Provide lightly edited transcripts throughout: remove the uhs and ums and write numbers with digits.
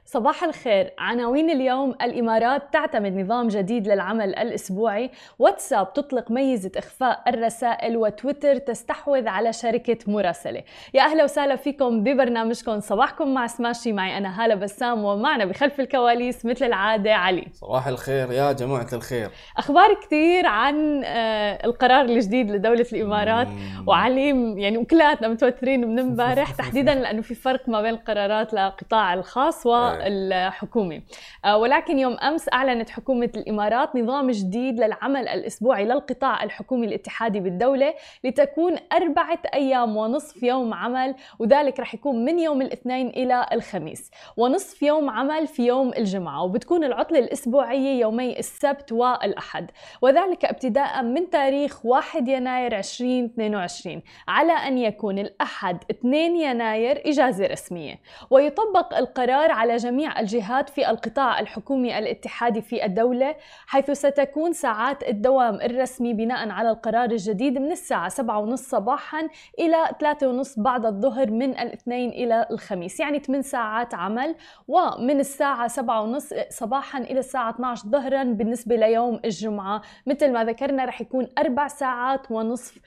صباح الخير. عناوين اليوم: الإمارات تعتمد نظام جديد للعمل الأسبوعي، واتساب تطلق ميزة إخفاء الرسائل، وتويتر تستحوذ على شركة مراسلة. يا أهلا وسهلا فيكم ببرنامجكم صباحكم مع سماشي. معي أنا هالة بسام، ومعنا بخلف الكواليس مثل العادة علي. صباح الخير يا جماعة الخير. أخبار كتير عن القرار الجديد لدولة الإمارات، وعلي يعني وكلاتنا متوترين من امبارح تحديدا لأنه في فرق ما بين القرارات للقطاع الخاص والحكومي. ولكن يوم أمس أعلنت حكومة الإمارات نظام جديد للعمل الأسبوعي للقطاع الحكومي الاتحادي بالدولة، لتكون 4 أيام ونصف يوم عمل، وذلك رح يكون من يوم الاثنين إلى الخميس، ونصف يوم عمل في يوم الجمعة، وبتكون العطلة الأسبوعية يومي السبت والأحد، وذلك ابتداء من تاريخ 1 يناير 2022، على أن يكون الأحد 2 يناير إجازة رسمية. ويطبق القرار على جميع الجهات في القطاع الحكومي الاتحادي في الدولة، حيث ستكون ساعات الدوام الرسمي بناء على القرار الجديد من الساعة 7:30 صباحا إلى 3:30 بعد الظهر من الاثنين إلى الخميس، يعني 8 ساعات عمل، ومن الساعة 7:30 صباحا إلى الساعة 12 ظهرا بالنسبة ليوم الجمعة. مثل ما ذكرنا رح يكون 4 ساعات ونصف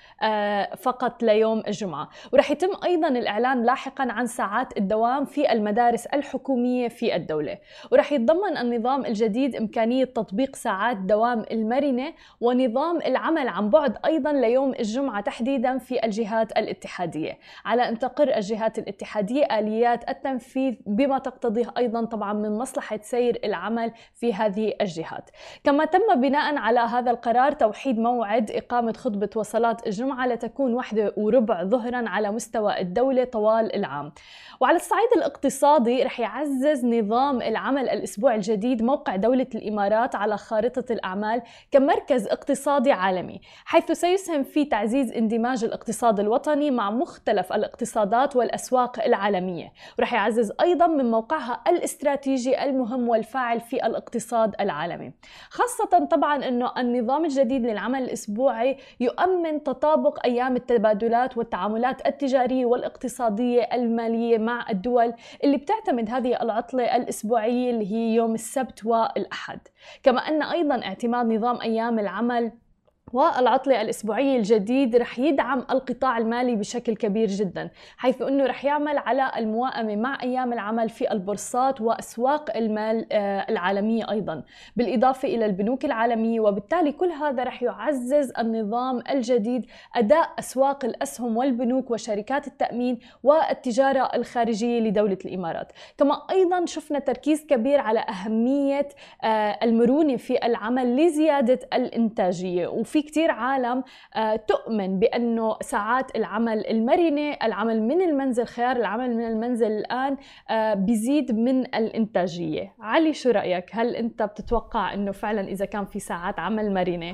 فقط ليوم الجمعة. ورح يتم أيضا الإعلان لاحقا عن ساعات الدوام في المدارس الحكومية في الدولة. ورح يتضمن النظام الجديد إمكانية تطبيق ساعات دوام المرنة ونظام العمل عن بعد أيضا ليوم الجمعة تحديدا في الجهات الاتحادية، على أن تقر الجهات الاتحادية آليات التنفيذ بما تقتضيه أيضا طبعا من مصلحة سير العمل في هذه الجهات. كما تم بناء على هذا القرار توحيد موعد إقامة خطبة وصلاة الجمعة لتكون 1:15 ظهرا على مستوى الدولة طوال العام. وعلى الصعيد الاقتصادي رح يعزز نظام العمل الأسبوع الجديد موقع دولة الإمارات على خارطة الأعمال كمركز اقتصادي عالمي، حيث سيسهم في تعزيز اندماج الاقتصاد الوطني مع مختلف الاقتصادات والأسواق العالمية. ورح يعزز أيضا من موقعها الاستراتيجي المهم والفاعل في الاقتصاد العالمي، خاصة طبعا أنه النظام الجديد للعمل الأسبوعي يؤمن تطابق أيام التبادلات والتعاملات التجارية والاقتصادية المالية مع الدول اللي بتعتمد هذه العطلة الأسبوعية اللي هي يوم السبت والأحد. كما أن أيضا اعتماد نظام أيام العمل والعطلة الأسبوعية الجديد رح يدعم القطاع المالي بشكل كبير جدا، حيث أنه رح يعمل على الموائمة مع أيام العمل في البورصات وأسواق المال العالمية أيضا، بالإضافة إلى البنوك العالمية. وبالتالي كل هذا رح يعزز النظام الجديد أداء أسواق الأسهم والبنوك وشركات التأمين والتجارة الخارجية لدولة الإمارات. كما أيضا شفنا تركيز كبير على أهمية المرونة في العمل لزيادة الإنتاجية، وفي كتير عالم تؤمن بأنه ساعات العمل المرنة، العمل من المنزل، خيار العمل من المنزل الآن بيزيد من الإنتاجية. علي، شو رأيك؟ هل أنت بتتوقع أنه فعلا إذا كان في ساعات عمل مرنة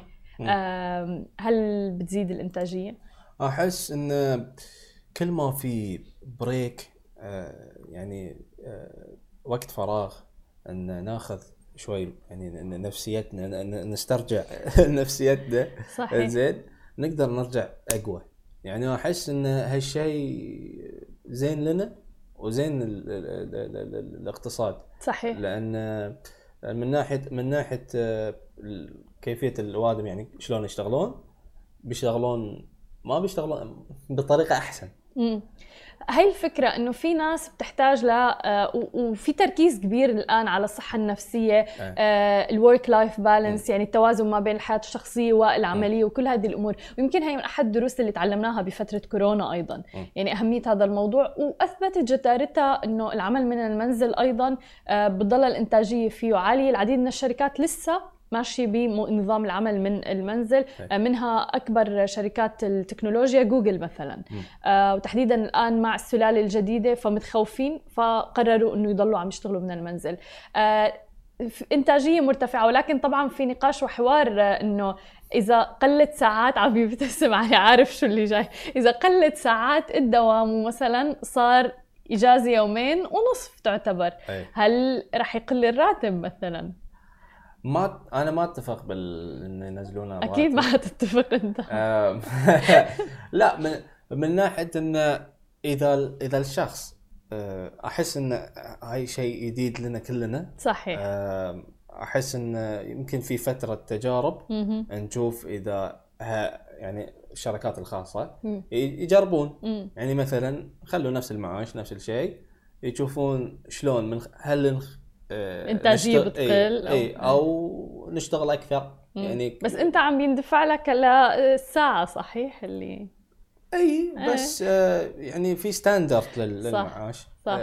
هل بتزيد الإنتاجية؟ أحس أن كل ما في بريك يعني وقت فراغ أن ناخذ شوي، يعني نفسيتنا نسترجع نفسيتنا زين، نقدر نرجع أقوى. يعني أحس إن هالشيء زين لنا وزين الاقتصاد. صحيح. لأن من ناحية كيفية الوادم، يعني شلون بيشتغلون ما بيشتغلون بطريقة أحسن. هاي الفكرة إنه في ناس بتحتاج وفي تركيز كبير الآن على الصحة النفسية، الورك لايف بالانس، يعني التوازن ما بين الحياة الشخصية والعملية وكل هذه الأمور. ويمكن هي من أحد الدروس اللي تعلمناها بفترة كورونا أيضا، يعني أهمية هذا الموضوع، وأثبتت جدارتها إنه العمل من المنزل أيضا بتضل الإنتاجية فيه عالية. العديد من الشركات لسه ماشي بنظام العمل من المنزل، منها أكبر شركات التكنولوجيا جوجل مثلا، وتحديدا الآن مع السلالة الجديدة فمتخوفين، فقرروا أنه يضلوا عم يشتغلوا من المنزل. إنتاجية مرتفعة، ولكن طبعا في نقاش وحوار أنه إذا قلت ساعات، عم يبتسم علي عارف شو اللي جاي، إذا قلت ساعات الدوام ومثلا صار إجازة 2.5 يوم تعتبر، هل رح يقل الراتب مثلا؟ أنا ما أتفق إن ينزلون الراتب. أكيد ما هتتفق أنت. لا، من ناحية إن إذا الشخص احس ان هاي شيء جديد لنا كلنا. صحيح. احس ان يمكن في فتره تجارب نشوف اذا يعني الشركات الخاصه يجربون. يعني مثلا خلوا نفس المعاش نفس الشيء، يشوفون شلون من هل انتاجيه بتقل او نشتغل اكثر. يعني بس انت عم يندفع لك للساعه، صحيح اللي بس يعني في ستاندرد للمعاش. صح.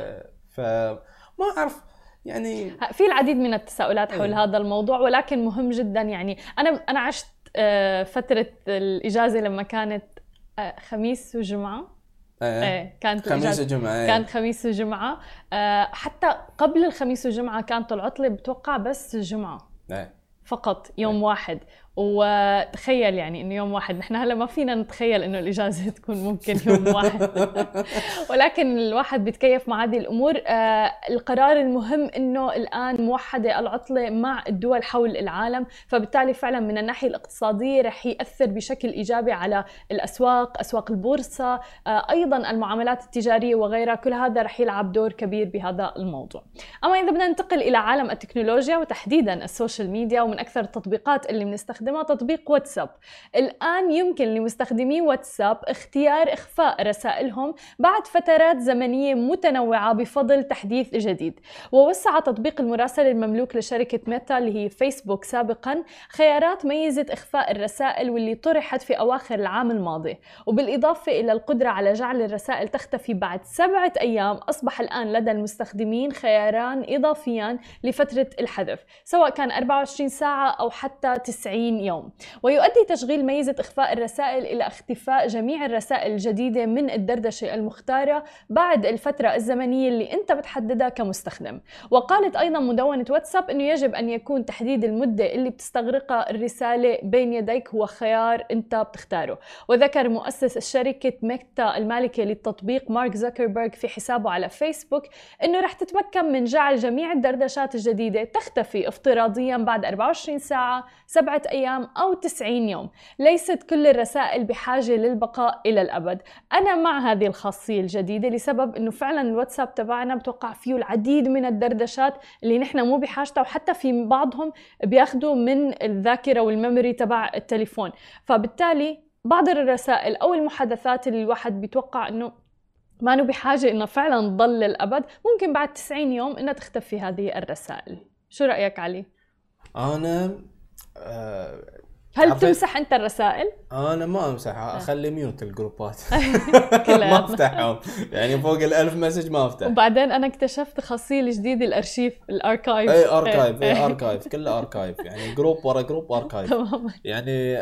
فما اعرف يعني في العديد من التساؤلات حول هذا الموضوع، ولكن مهم جدا. يعني انا عشت فتره الاجازه لما كانت خميس وجمعه. كانت خميس وجمعه. كانت خميس وجمعه. حتى قبل الخميس وجمعه كانت العطله بتوقع بس الجمعه فقط، يوم واحد. وتخيل يعني انه يوم واحد، نحن هلا ما فينا نتخيل انه الاجازه تكون ممكن يوم واحد ولكن الواحد بيتكيف مع هذه الامور. القرار المهم انه الان موحده العطله مع الدول حول العالم، فبالتالي فعلا من الناحيه الاقتصاديه رح ياثر بشكل ايجابي على الاسواق، اسواق البورصه، ايضا المعاملات التجاريه وغيرها. كل هذا رح يلعب دور كبير بهذا الموضوع. اما اذا بدنا ننتقل الى عالم التكنولوجيا وتحديدا السوشيال ميديا، ومن اكثر التطبيقات اللي بنستخدمها تطبيق واتساب. الآن يمكن لمستخدمي واتساب اختيار إخفاء رسائلهم بعد فترات زمنية متنوعة بفضل تحديث جديد. ووسع تطبيق المراسلة المملوك لشركة ميتا اللي هي فيسبوك سابقا خيارات ميزة إخفاء الرسائل واللي طرحت في أواخر العام الماضي، وبالإضافة إلى القدرة على جعل الرسائل تختفي بعد 7 أيام. أصبح الآن لدى المستخدمين خياران إضافيان لفترة الحذف، سواء كان 24 ساعة أو حتى 90 يوم. ويؤدي تشغيل ميزة إخفاء الرسائل إلى اختفاء جميع الرسائل الجديدة من الدردشة المختارة بعد الفترة الزمنية اللي أنت بتحددها كمستخدم. وقالت أيضا مدونة واتساب أنه يجب أن يكون تحديد المدة اللي بتستغرقها الرسالة بين يديك هو خيار أنت بتختاره. وذكر مؤسس شركة ميتا المالكة للتطبيق مارك زوكربيرغ في حسابه على فيسبوك أنه رح تتمكن من جعل جميع الدردشات الجديدة تختفي افتراضيا بعد 24 ساعة، 7 أيام أو 90 يوم. ليست كل الرسائل بحاجة للبقاء إلى الأبد. أنا مع هذه الخاصية الجديدة لسبب أنه فعلا الواتساب تبعنا بتوقع فيه العديد من الدردشات اللي نحن مو بحاجتها، وحتى في بعضهم بياخدوا من الذاكرة والميموري تبع التليفون. فبالتالي بعض الرسائل أو المحادثات اللي الواحد بيتوقع أنه ما نو بحاجة إنه فعلا تضل للأبد، ممكن بعد 90 يوم إنها تختفي هذه الرسائل. شو رأيك علي؟ أنا هل بتمسح أنت الرسائل؟ أنا ما أمسحها، أخلي ميوت الجروبات ما أفتحهم، يعني فوق 1000 مسج ما أفتح. وبعدين أنا اكتشفت خاصية الجديدة الأرشيف، الأركايف. أي أركايف، أي أركايف، كله أركايف، يعني جروب ورا جروب أركايف. تماما. يعني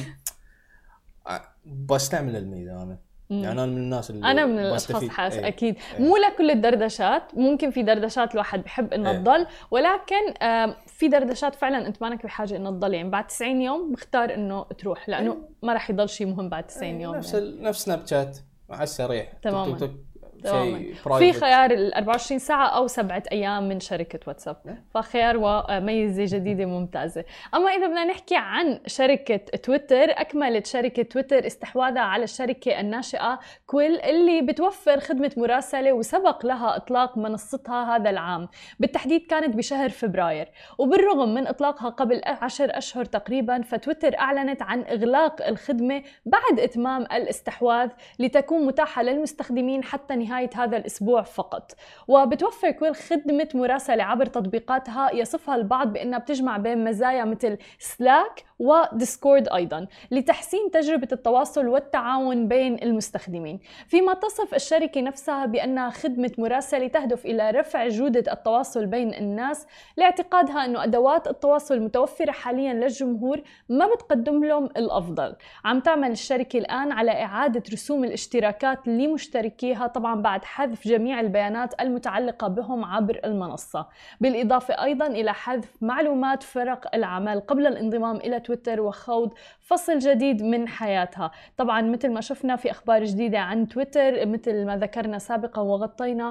بستعمل الميزة أنا. يعني أنا من الناس اللي أنا من الأشخاص أكيد مو لكل الدردشات، ممكن في دردشات الواحد بحب إنه تضل، ولكن في دردشات فعلا أنت مانك بحاجة إنه تضل. يعني بعد 90 يوم بختار إنه تروح، لأنه ما راح يضل شيء مهم بعد 90 يوم. نفس يعني. نفس سناب شات على السريع. تماما. في خيار ال 24 ساعة أو 7 أيام من شركة واتساب، فخيار وميزة جديدة ممتازة. أما إذا بدنا نحكي عن شركة تويتر، أكملت شركة تويتر استحواذها على الشركة الناشئة كويل اللي بتوفر خدمة مراسلة وسبق لها إطلاق منصتها هذا العام، بالتحديد كانت بشهر فبراير. وبالرغم من إطلاقها قبل 10 أشهر تقريبا، فتويتر أعلنت عن إغلاق الخدمة بعد إتمام الاستحواذ لتكون متاحة للمستخدمين حتى نهاية هذا الأسبوع فقط. وبتوفر كويل خدمة مراسلة عبر تطبيقاتها يصفها البعض بأنها بتجمع بين مزايا مثل سلاك وديسكورد أيضا لتحسين تجربة التواصل والتعاون بين المستخدمين، فيما تصف الشركة نفسها بأنها خدمة مراسلة تهدف إلى رفع جودة التواصل بين الناس، لاعتقادها أنه أدوات التواصل المتوفرة حاليا للجمهور ما بتقدم لهم الأفضل. عم تعمل الشركة الآن على إعادة رسوم الاشتراكات لمشتركيها، طبعا بعد حذف جميع البيانات المتعلقة بهم عبر المنصة، بالإضافة أيضا إلى حذف معلومات فرق العمل قبل الانضمام إلى تويتر وخوض فصل جديد من حياتها. طبعا مثل ما شفنا في أخبار جديدة عن تويتر، مثل ما ذكرنا سابقا وغطينا،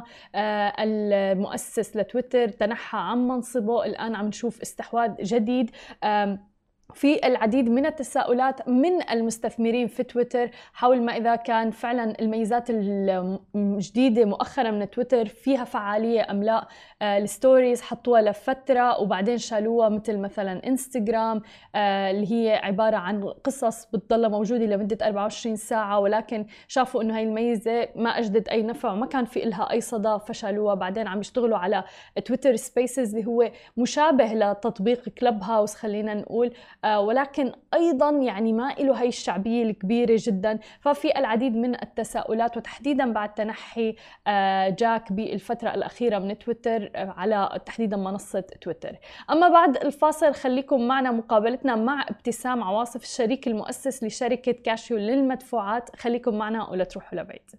المؤسس لتويتر تنحى عن منصبه، الآن عم نشوف استحواذ جديد في العديد من التساؤلات من المستثمرين في تويتر حول ما إذا كان فعلا الميزات الجديدة مؤخرا من تويتر فيها فعالية أم لا. الستوريز حطوها لفترة وبعدين شالوها، مثلا انستغرام اللي هي عبارة عن قصص بتضل موجودة لمدة 24 ساعة، ولكن شافوا إنه هاي الميزة ما أجدت أي نفع وما كان في إلها أي صدى فشالوها. بعدين عم يشتغلوا على تويتر سبيسز اللي هو مشابه لتطبيق كلب هاوس خلينا نقول، ولكن أيضاً يعني ما له هاي الشعبية الكبيرة جداً. ففي العديد من التساؤلات، وتحديداً بعد تنحي جاك بالفترة الأخيرة من تويتر على تحديداً منصة تويتر. أما بعد الفاصل خليكم معنا مقابلتنا مع ابتسام عواصف، الشريك المؤسس لشركة كاشيو للمدفوعات. خليكم معنا ولا تروحوا لبعيد.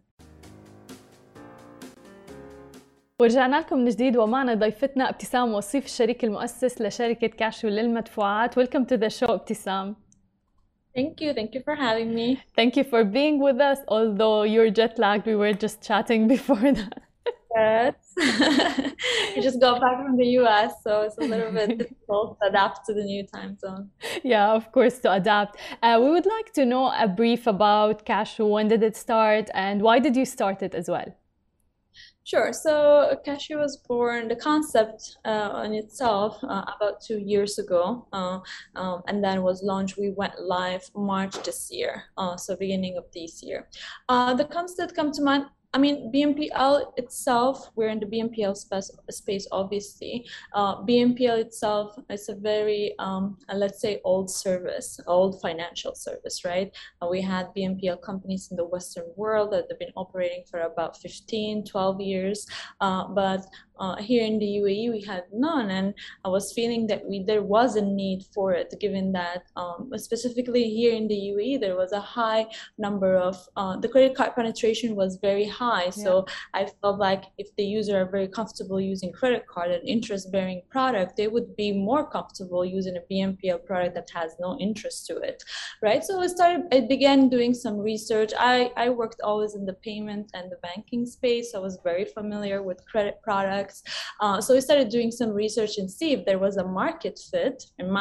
ورجعنا لكم من جديد ومعنا ضيفتنا ابتسام وصيف، الشريك المؤسس لشركة كاشيو للمدفوعات. Welcome to the show ابتسام. Thank you for having me. Thank you for being with us, although you're jet lagged. We were just chatting before that. Yes. You just got back from the US, so it's a little bit difficult to adapt to the new time zone. Yeah, of course, to adapt. We would like to know a brief about Cashew. When did it start and why did you start it as well? Sure. So Cashew was born, the concept in itself about 2 years ago, and then was launched. We went live March this year, so beginning of this year. The concept come to mind. I mean, BNPL itself, we're in the BNPL space, obviously. BNPL itself is a very, let's say, old service, old financial service, right? We had BNPL companies in the Western world that have been operating for about 15, 12 years, but here in the UAE, we had none, and I was feeling that there was a need for it, given that specifically here in the UAE, there was a high number of, the credit card penetration was very high. So I felt like if the user are very comfortable using credit card, an interest-bearing product, they would be more comfortable using a BNPL product that has no interest to it, right? So I began doing some research. I worked always in the payment and the banking space. I was very familiar with credit products. So we started doing some research and see if there was a market fit.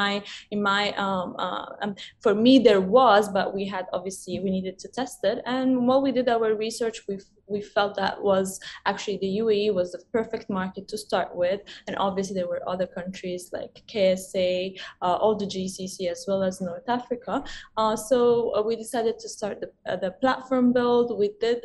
For me, there was, but we needed to test it. And while we did our research, we felt that was actually the UAE was the perfect market to start with. And obviously there were other countries like KSA, all the GCC, as well as North Africa. So we decided to start the platform build. We did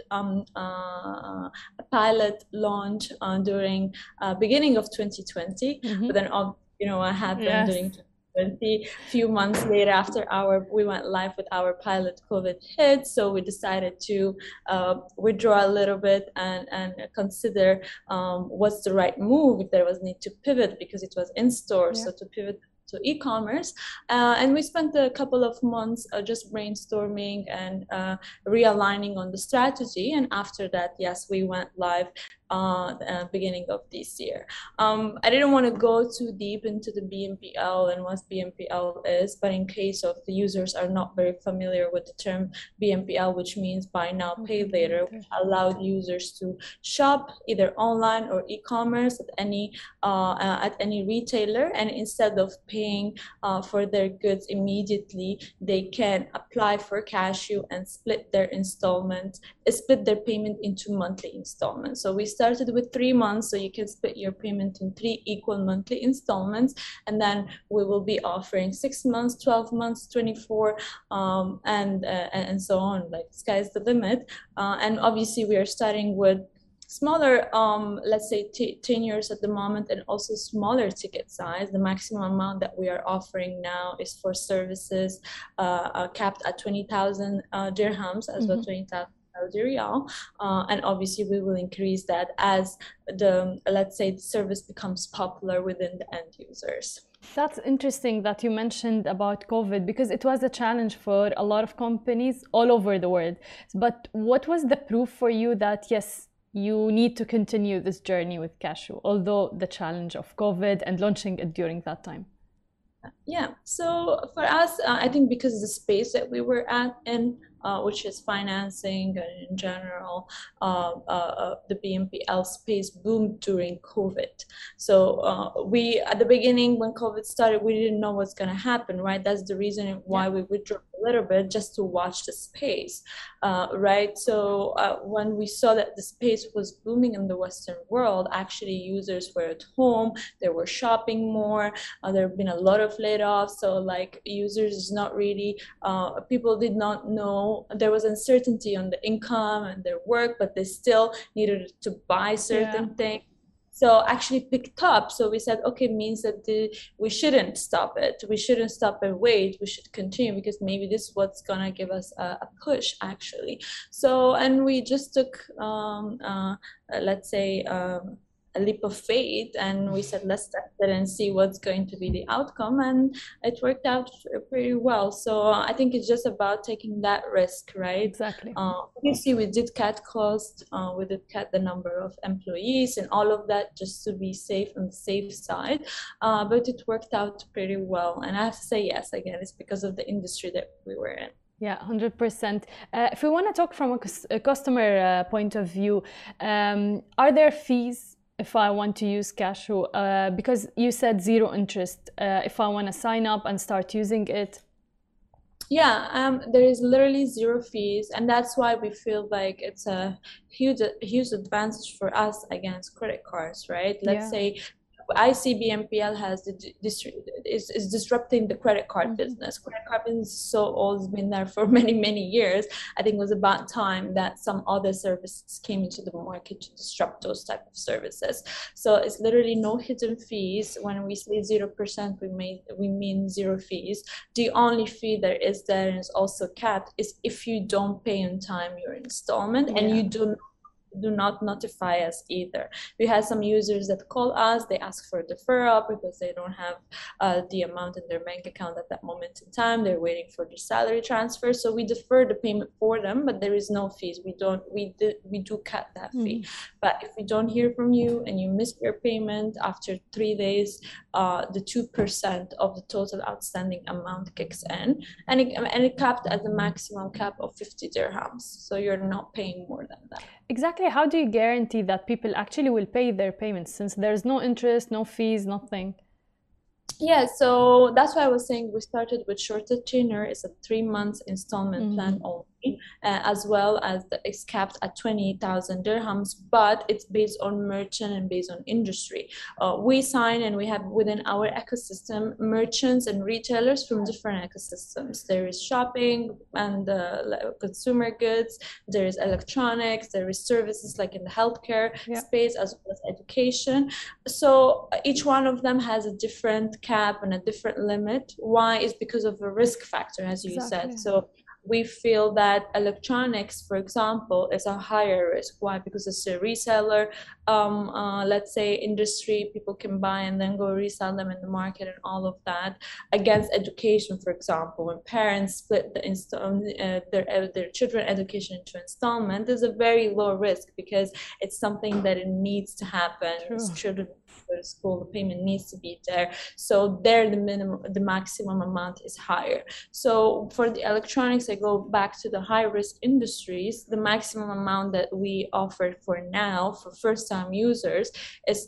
a pilot launch during beginning of 2020, but then what happened during 2020, few months later after we went live with our pilot, COVID hit, so we decided to withdraw a little bit and consider what's the right move, if there was need to pivot because it was in store, so to pivot to e-commerce, and we spent a couple of months just brainstorming and realigning on the strategy, and after that, yes, we went live beginning of this year. I didn't want to go too deep into the BNPL and what BNPL is, but in case of the users are not very familiar with the term BNPL, which means buy now, pay later, which allowed users to shop either online or e-commerce at any retailer, and instead of paying for their goods immediately, they can apply for Cashew and split their payment into monthly installments. So we started with 3 months, so you can split your payment in 3 equal monthly installments, and then we will be offering 6 months, 12 months, 24, and so on. Like, sky's the limit. And obviously we are starting with smaller, let's say tenures at the moment, and also smaller ticket size. The maximum amount that we are offering now is for services capped at 20,000 dirhams, as well 20,000 Saudi Riyal, and obviously we will increase that as let's say the service becomes popular within the end users. That's interesting that you mentioned about COVID, because it was a challenge for a lot of companies all over the world. But what was the proof for you that yes, you need to continue this journey with Cashew, although the challenge of COVID and launching it during that time? Yeah, so for us, I think because the space that we were at, and which is financing and in general, the BNPL space boomed during COVID. So we, at the beginning when COVID started, we didn't know what's going to happen, right? That's the reason why we withdrew a little bit, just to watch the space, right? So when we saw that the space was booming in the Western world, actually users were at home, they were shopping more, there have been a lot of layoffs, so like users is not really, people did not know, there was uncertainty on the income and their work, but they still needed to buy certain things. So actually picked up. So we said, okay, means that we shouldn't stop it. We shouldn't stop and wait. We should continue, because maybe this is what's gonna give us a push, actually. So, and we just took, let's say, a leap of faith, and we said, let's test it and see what's going to be the outcome, and it worked out pretty well. So I think it's just about taking that risk, right? Exactly. Obviously we did cut costs, we did cut the number of employees and all of that, just to be safe on the safe side, but it worked out pretty well. And I have to say, yes, again, it's because of the industry that we were in. Yeah, 100%. If we want to talk from a customer point of view, are there fees if I want to use Cashew? Because you said zero interest, if I want to sign up and start using it. Yeah, there is literally zero fees, and that's why we feel like it's a huge advantage for us against credit cards, right? Let's say I see BNPL is disrupting the credit card business. Credit card business is so old, it's been there for many years. I think it was about time that some other services came into the market to disrupt those type of services. So it's literally no hidden fees. When we say 0%, we mean zero fees. The only fee there is also capped is if you don't pay on time your installment, and you do not notify us either. We had some users that call us, they ask for a deferral because they don't have the amount in their bank account at that moment in time. They're waiting for the salary transfer, so we defer the payment for them, but there is no fees. We do cut that fee. But if we don't hear from you and you miss your payment after 3 days, the 2% of the total outstanding amount kicks in, and it capped at the maximum cap of 50 dirhams. So you're not paying more than that. Exactly. How do you guarantee that people actually will pay their payments, since there's no interest, no fees, nothing? Yeah, so that's why I was saying we started with shorter tenure. It's a 3 months installment plan only, as well as it's capped at 20,000 dirhams, but it's based on merchant and based on industry. We sign and we have within our ecosystem merchants and retailers from different ecosystems. There is shopping and consumer goods, there is electronics, there is services like in the healthcare space, as well as education. So each one of them has a different cap and a different limit. Why? Is because of a risk factor, as you said. So we feel that electronics, for example, is a higher risk. Why? Because it's a reseller, let's say industry, people can buy and then go resell them in the market and all of that. Against education, for example, when parents split their children education into installment, there's a very low risk because it's something that it needs to happen. Children go to school, the payment needs to be there. So there the maximum amount is higher. So for the electronics, I go back to the high risk industries, the maximum amount that we offer for now for first time users is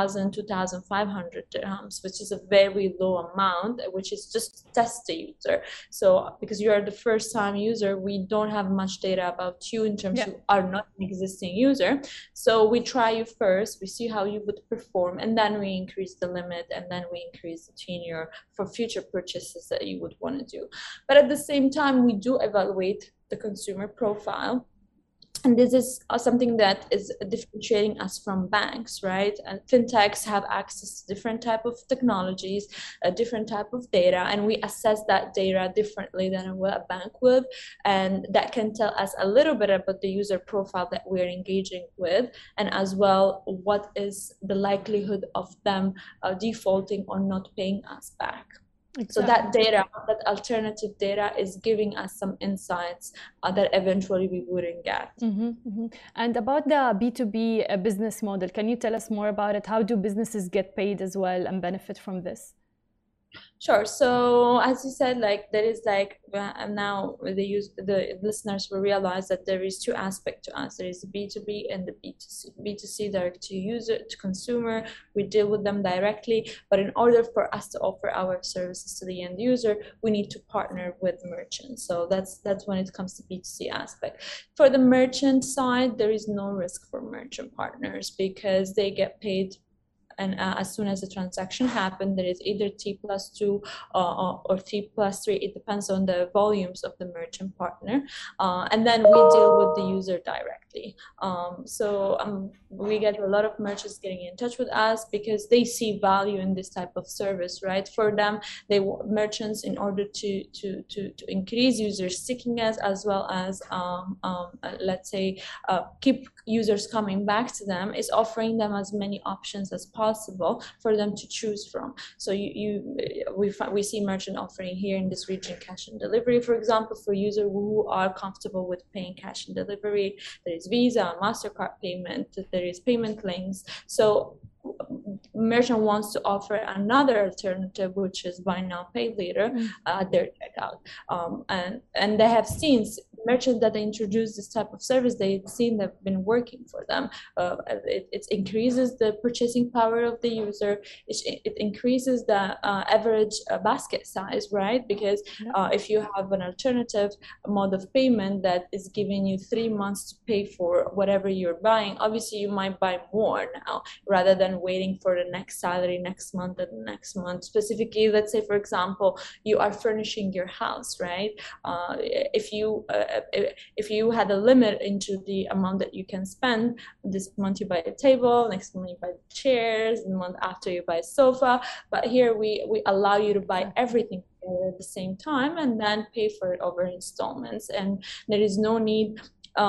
2,500 dirhams, which is a very low amount, which is just to test the user. So because you are the first time user, we don't have much data about you in terms you are not an existing user. So we try you first, we see how you would perform, and then we increase the limit, and then we increase the tenure for future purchases that you would want to do. But at the same time, we do evaluate the consumer profile. And this is something that is differentiating us from banks, right? And fintechs have access to different type of technologies, a different type of data, and we assess that data differently than what a bank would. And that can tell us a little bit about the user profile that we're engaging with, and as well, what is the likelihood of them defaulting or not paying us back. Exactly. So that data, that alternative data, is giving us some insights that eventually we wouldn't get. And about the B2B business model, can you tell us more about it? How do businesses get paid as well and benefit from this? Sure. So as you said, like there is like now the listeners will realize that there is two aspects to us. There is the B2B and the B2C. B2C, direct to user, to consumer. We deal with them directly, but in order for us to offer our services to the end user, we need to partner with merchants. So that's when it comes to B2C aspect. For the merchant side, there is no risk for merchant partners because they get paid, and as soon as the transaction happens, there is either T+2 or T+3. It depends on the volumes of the merchant partner, and then we deal with the user directly. We get a lot of merchants getting in touch with us because they see value in this type of service, right? For them, merchants, in order to increase user stickiness as well as let's say keep users coming back to them, is offering them as many options as possible for them to choose from. So we see merchant offering here in this region cash and delivery, for example, for users who are comfortable with paying cash and delivery. There is Visa, MasterCard payment, there is payment links. So merchant wants to offer another alternative, which is buy now, pay later at their checkout. And they have seen merchants that introduce this type of service, they've seen they've been working for them. It increases the purchasing power of the user. It increases the average basket size, right? Because if you have an alternative mode of payment that is giving you 3 months to pay for whatever you're buying, obviously you might buy more now rather than waiting for the next salary next month and the next month. Specifically, let's say, for example, you are furnishing your house, right? If you had a limit into the amount that you can spend, this month you buy a table, next month you buy chairs, and the month after you buy a sofa. But here we allow you to buy everything at the same time and then pay for it over installments. And there is no need.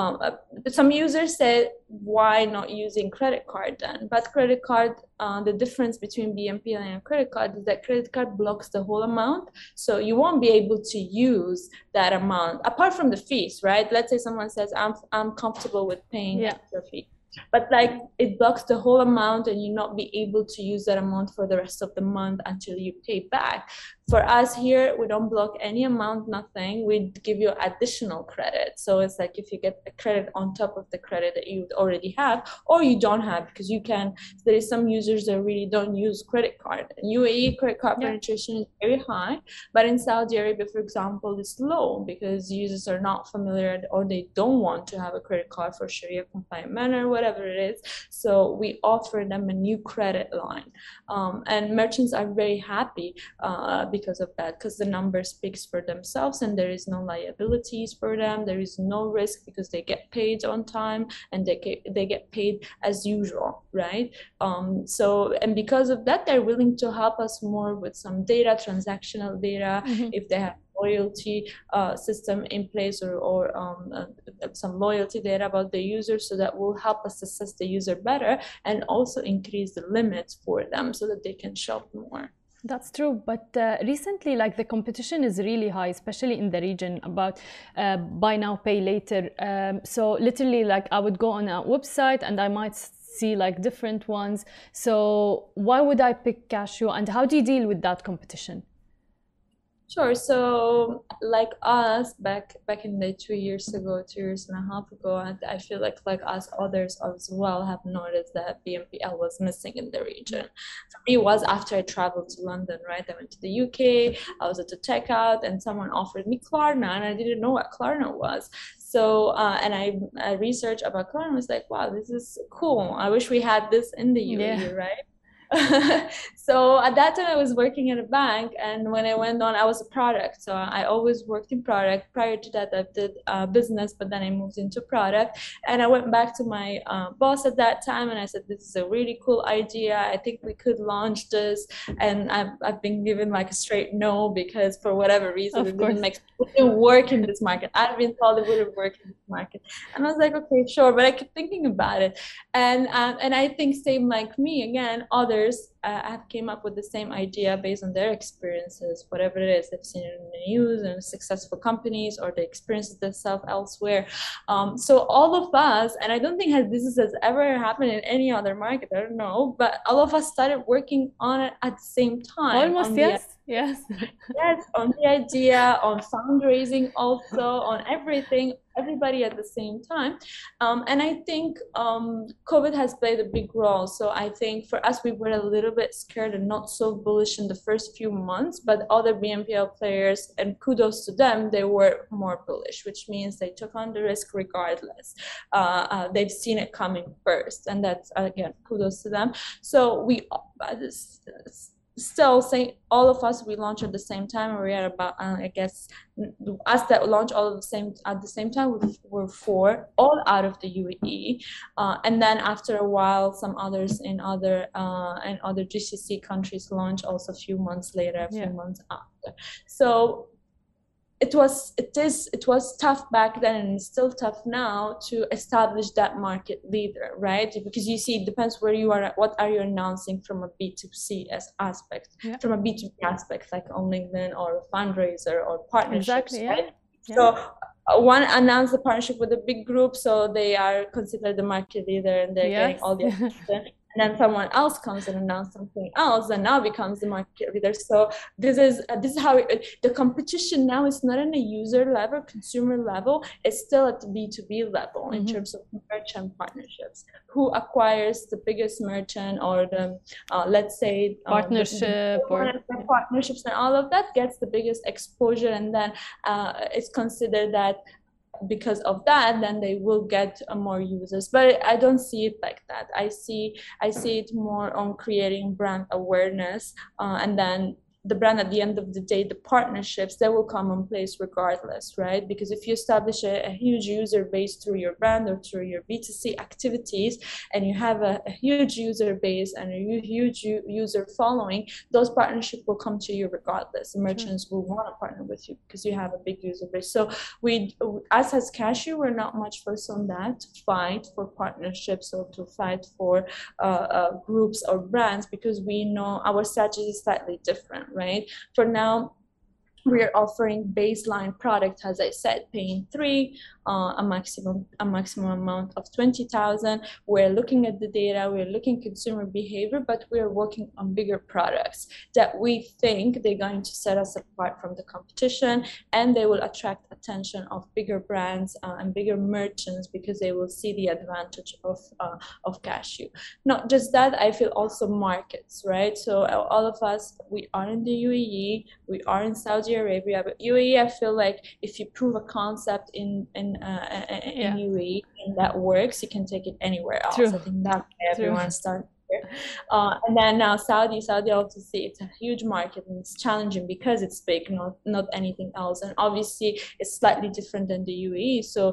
Some users say, why not using credit card then? But credit card, the difference between BNPL and a credit card is that credit card blocks the whole amount. So you won't be able to use that amount, apart from the fees, right? Let's say someone says, I'm comfortable with paying extra fee. But like it blocks the whole amount and you not be able to use that amount for the rest of the month until you pay back. For us here, we don't block any amount, nothing. We give you additional credit. So it's like if you get a credit on top of the credit that you already have, or you don't have, because you can, there is some users that really don't use credit card. In UAE, credit card penetration is very high, but in Saudi Arabia, for example, it's low because users are not familiar or they don't want to have a credit card for Sharia compliant manner, whatever it is. So we offer them a new credit line. And merchants are very happy because of that, because the number speaks for themselves and there is no liabilities for them. There is no risk because they get paid on time and they get paid as usual, right? And because of that, they're willing to help us more with some data, transactional data, if they have loyalty system in place or some loyalty data about the user, so that will help us assess the user better and also increase the limits for them so that they can shop more. That's true, but recently, like, the competition is really high, especially in the region about buy now, pay later. So literally, like, I would go on a website and I might see like different ones. So why would I pick Casio, and how do you deal with that competition? Sure. So like us back in the 2 years ago, 2.5 years ago, I feel like us, others as well have noticed that BNPL was missing in the region. For me, it was after I traveled to London, right? I went to the UK, I was at the checkout and someone offered me Klarna and I didn't know what Klarna was. So, and I researched about Klarna and was like, wow, this is cool. I wish we had this in the UAE, right? So at that time I was working at a bank, and when I went on, I was a product, so I always worked in product. Prior to that I did business, but then I moved into product, and I went back to my boss at that time and I said, this is a really cool idea, I think we could launch this. And I've been given like a straight no, because for whatever reason it didn't work in this market. I've been told it wouldn't work in this market, and I was like, okay, sure. But I kept thinking about it, and I think same like me, again, others have came up with the same idea based on their experiences, whatever it is they've seen it in the news and successful companies, or they experiences themselves elsewhere. So all of us, and I don't think this has ever happened in any other market, I don't know, but all of us started working on it at the same time. Almost, yes. Yes, on the idea, on fundraising, also on everything, everybody at the same time. And I think COVID has played a big role. So I think for us, we were a little bit scared and not so bullish in the first few months, but other BNPL players, and kudos to them, they were more bullish, which means they took on the risk regardless. They've seen it coming first, and that's, again, kudos to them. So we still say all of us, we launched at the same time, and we had about I guess us that launched all at the same time, we were 4, all out of the UAE, and then after a while some others in other GCC countries launched also a few months later, a few months after. So it was tough back then, and it's still tough now to establish that market leader, right? Because you see, it depends where you are, what are you announcing from a B2C aspect, from a B2B aspect, like on LinkedIn or a fundraiser or partnerships, right? So one announced a partnership with a big group, so they are considered the market leader, and they're getting all the attention. And then someone else comes and announces something else, and now becomes the market leader. So this is how the competition now is not on a user level, consumer level. It's still at the B2B level in terms of merchant partnerships. Who acquires the biggest merchant, or the let's say partnership, or partnerships, and all of that gets the biggest exposure, and then it's considered that because of that, then they will get more users. But I don't see it like that. I see it more on creating brand awareness, and then the brand, at the end of the day, the partnerships, they will come in place regardless, right? Because if you establish a huge user base through your brand or through your B2C activities, and you have a huge user base and a huge user following, those partnerships will come to you regardless. The merchants will want to partner with you because you have a big user base. So us as Cashew, we're not much focused on that, to fight for partnerships or to fight for groups or brands, because we know our strategy is slightly different, right? For now, we are offering baseline product, as I said, paying 3, a maximum amount of 20,000. We're looking at the data, we're looking at consumer behavior, but we're working on bigger products that we think they're going to set us apart from the competition, and they will attract attention of bigger brands and bigger merchants, because they will see the advantage of Cashew. Not just that, I feel also markets, right? So all of us, we are in the UAE, we are in Saudi Arabia, but UAE, I feel like if you prove a concept in UAE and that works, you can take it anywhere else. I think that's why everyone starts here. And then now Saudi obviously, it's a huge market, and it's challenging because it's big, not anything else. And obviously it's slightly different than the UAE. So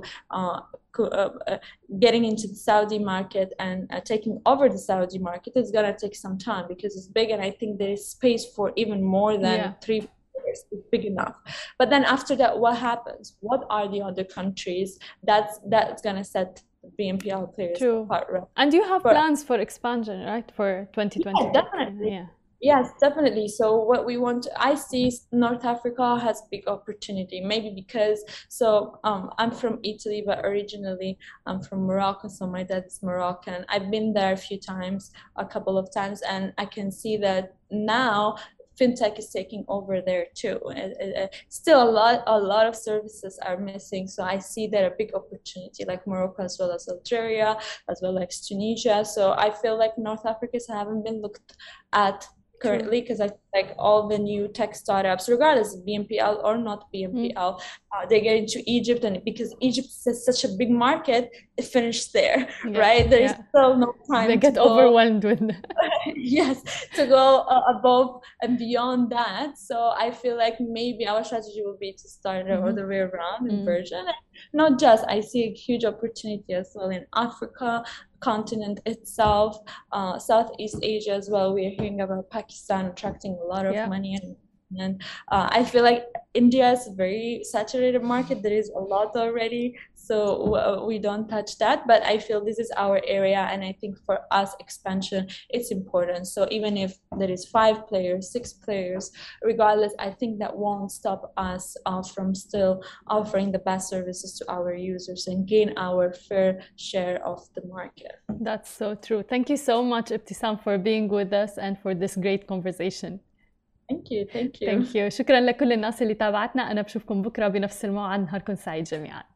getting into the Saudi market and taking over the Saudi market is gonna take some time, because it's big, and I think there is space for even more than 3. It's big enough. But then after that, what happens? What are the other countries that's going to set BNPL players apart? Right? And you have plans for expansion, right, for 2020? Yeah, definitely. Yes, definitely. So what we want, I see North Africa has big opportunity, maybe because, I'm from Italy, but originally I'm from Morocco. So my dad is Moroccan. I've been there a couple of times, and I can see that now fintech is taking over there too. Still a lot of services are missing. So I see there a big opportunity, like Morocco, as well as Algeria, as well as Tunisia. So I feel like North Africa haven't been looked at currently, because I feel like all the new tech startups, regardless of BNPL or not BNPL, they get into Egypt, and because Egypt is such a big market, it finished there, right? There is still no time. They get overwhelmed with yes, to go above and beyond that. So I feel like maybe our strategy will be to start the other way around in version. And not just, I see a huge opportunity as well in Africa continent itself, Southeast Asia as well. We are hearing about Pakistan attracting a lot of money, and I feel like India is a very saturated market. There is a lot already, so we don't touch that. But I feel this is our area, and I think for us expansion, it's important. So even if there is 5 players, 6 players, regardless, I think that won't stop us from still offering the best services to our users and gain our fair share of the market. That's so true. Thank you so much, Ibtisam, for being with us and for this great conversation. Thank you. Thank you. شكرا لكل الناس اللي تابعتنا. أنا بشوفكم بكرة بنفس الموعد. نهاركم سعيد جميعا.